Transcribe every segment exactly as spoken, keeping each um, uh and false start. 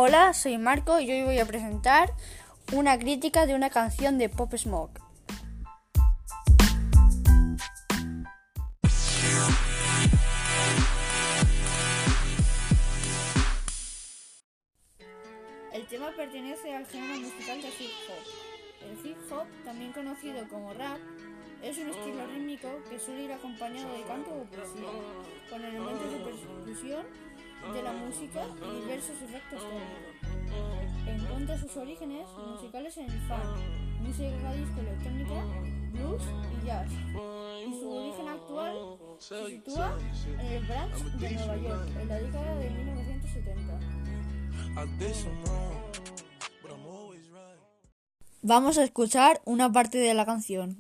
Hola, soy Marco y hoy voy a presentar una crítica de una canción de Pop Smoke. El tema pertenece al género musical de hip hop. El hip hop, también conocido como rap, es un estilo rítmico que suele ir acompañado de canto o poesía, con elementos de percusión de la música y diversos efectos técnicos. Encuentra sus orígenes musicales en el funk, música disco electrónica, blues y jazz, y su origen actual se sitúa en el Bronx de Nueva York en la década de mil novecientos setenta. Vamos a escuchar una parte de la canción.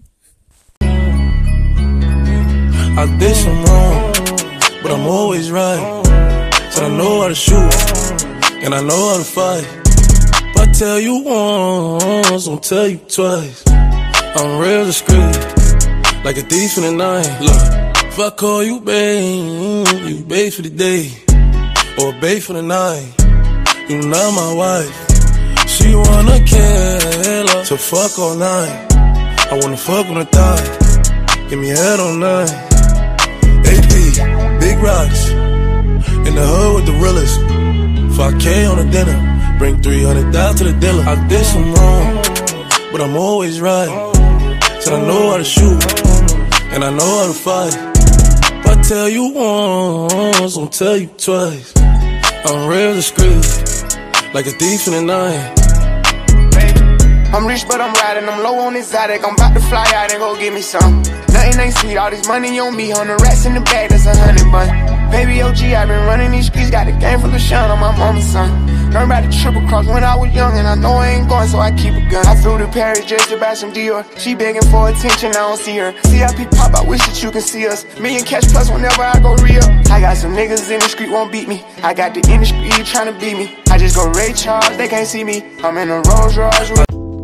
I did some wrong, but I'm always right. Said I know how to shoot, and I know how to fight. If I tell you once, I'll tell you twice. I'm real discreet, like a thief in the night. Look, if I call you babe, you babe for the day, or babe for the night. You not my wife. She wanna kill her, so fuck all night. I wanna fuck on the thigh, give me head all night. A P, big rocks, in the hood with the realest. five K on the dinner, bring three hundred down to the dealer. I did some wrong, but I'm always right. Said I know how to shoot, and I know how to fight. If I tell you once, I'll tell you twice. I'm real discreet, like a thief in the night. I'm rich but I'm riding, I'm low on exotic. I'm about to fly out and go get me some. Nothing ain't sweet, all this money on me. On the rats in the bag, that's a hundred bun. Baby O G, I been running these streets. Got a game full of shine on my mama's son. Learned about the triple cross when I was young, and I know I ain't going, so I keep a gun. I flew to Paris just to buy some Dior. She begging for attention, I don't see her. C I P pop, I wish that you can see us. Million cash plus whenever I go real. I got some niggas in the street won't beat me. I got the industry tryna beat me. I just go Ray Charles, they can't see me. I'm in a Rolls Royce.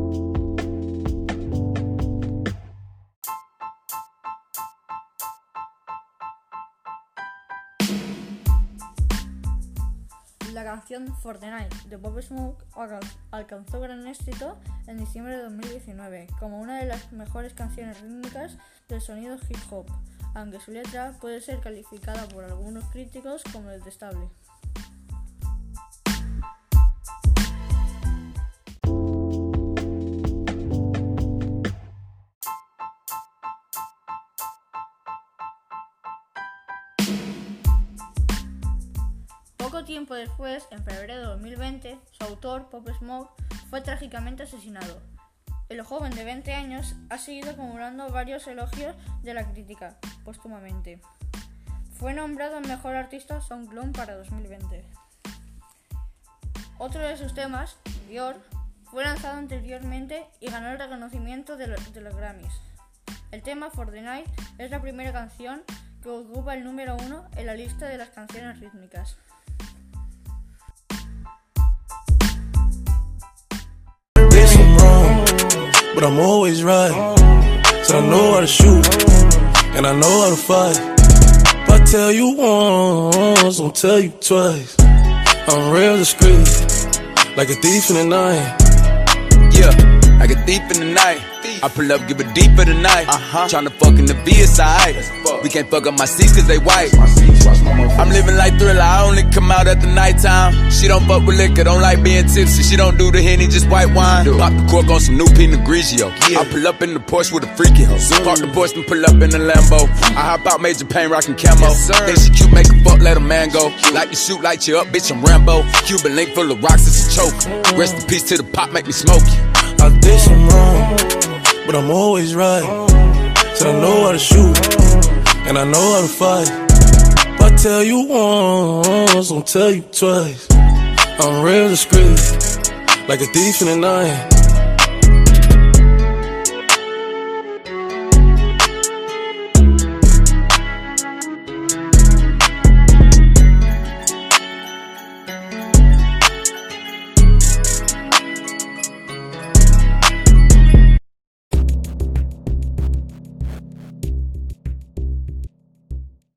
La canción For the Night de Pop Smoke alcanzó gran éxito en diciembre de dos mil diecinueve como una de las mejores canciones rítmicas del sonido hip hop, aunque su letra puede ser calificada por algunos críticos como detestable. Poco tiempo después, en febrero de dos mil veinte, su autor, Pop Smoke, fue trágicamente asesinado. El joven de veinte años ha seguido acumulando varios elogios de la crítica, póstumamente. Fue nombrado Mejor Artista SoundCloud para dos mil veinte. Otro de sus temas, Dior, fue lanzado anteriormente y ganó el reconocimiento de, lo, de los Grammys. El tema For the Night es la primera canción que ocupa el número uno en la lista de las canciones rítmicas. But I'm always right. Said I know how to shoot, and I know how to fight. If I tell you once, I'll tell you twice. I'm real discreet, like a thief in the night. Yeah, like a thief in the night. I pull up, give it deep for the night. Uh-huh. Tryna fuck in the V S I. We can't fuck up my seats cause they white. I'm living like Thriller, I only come out at the nighttime. She don't fuck with liquor, don't like being tipsy. She don't do the Henny, just white wine. Pop the cork on some new Pinot Grigio. I pull up in the Porsche with a freaky hoe. Park the Porsche and pull up in the Lambo. I hop out Major Payne rockin' camo. Think she cute, make a fuck, let a man go. Like you shoot, light you up, bitch, I'm Rambo. Cuban link full of rocks, it's a choke. Rest in peace to the pop, make me smoke you. I did some wrong, but I'm always right. Said I know how to shoot, and I know how to fight. If I tell you once, I'll tell you twice. I'm real discreet, like a thief in the night.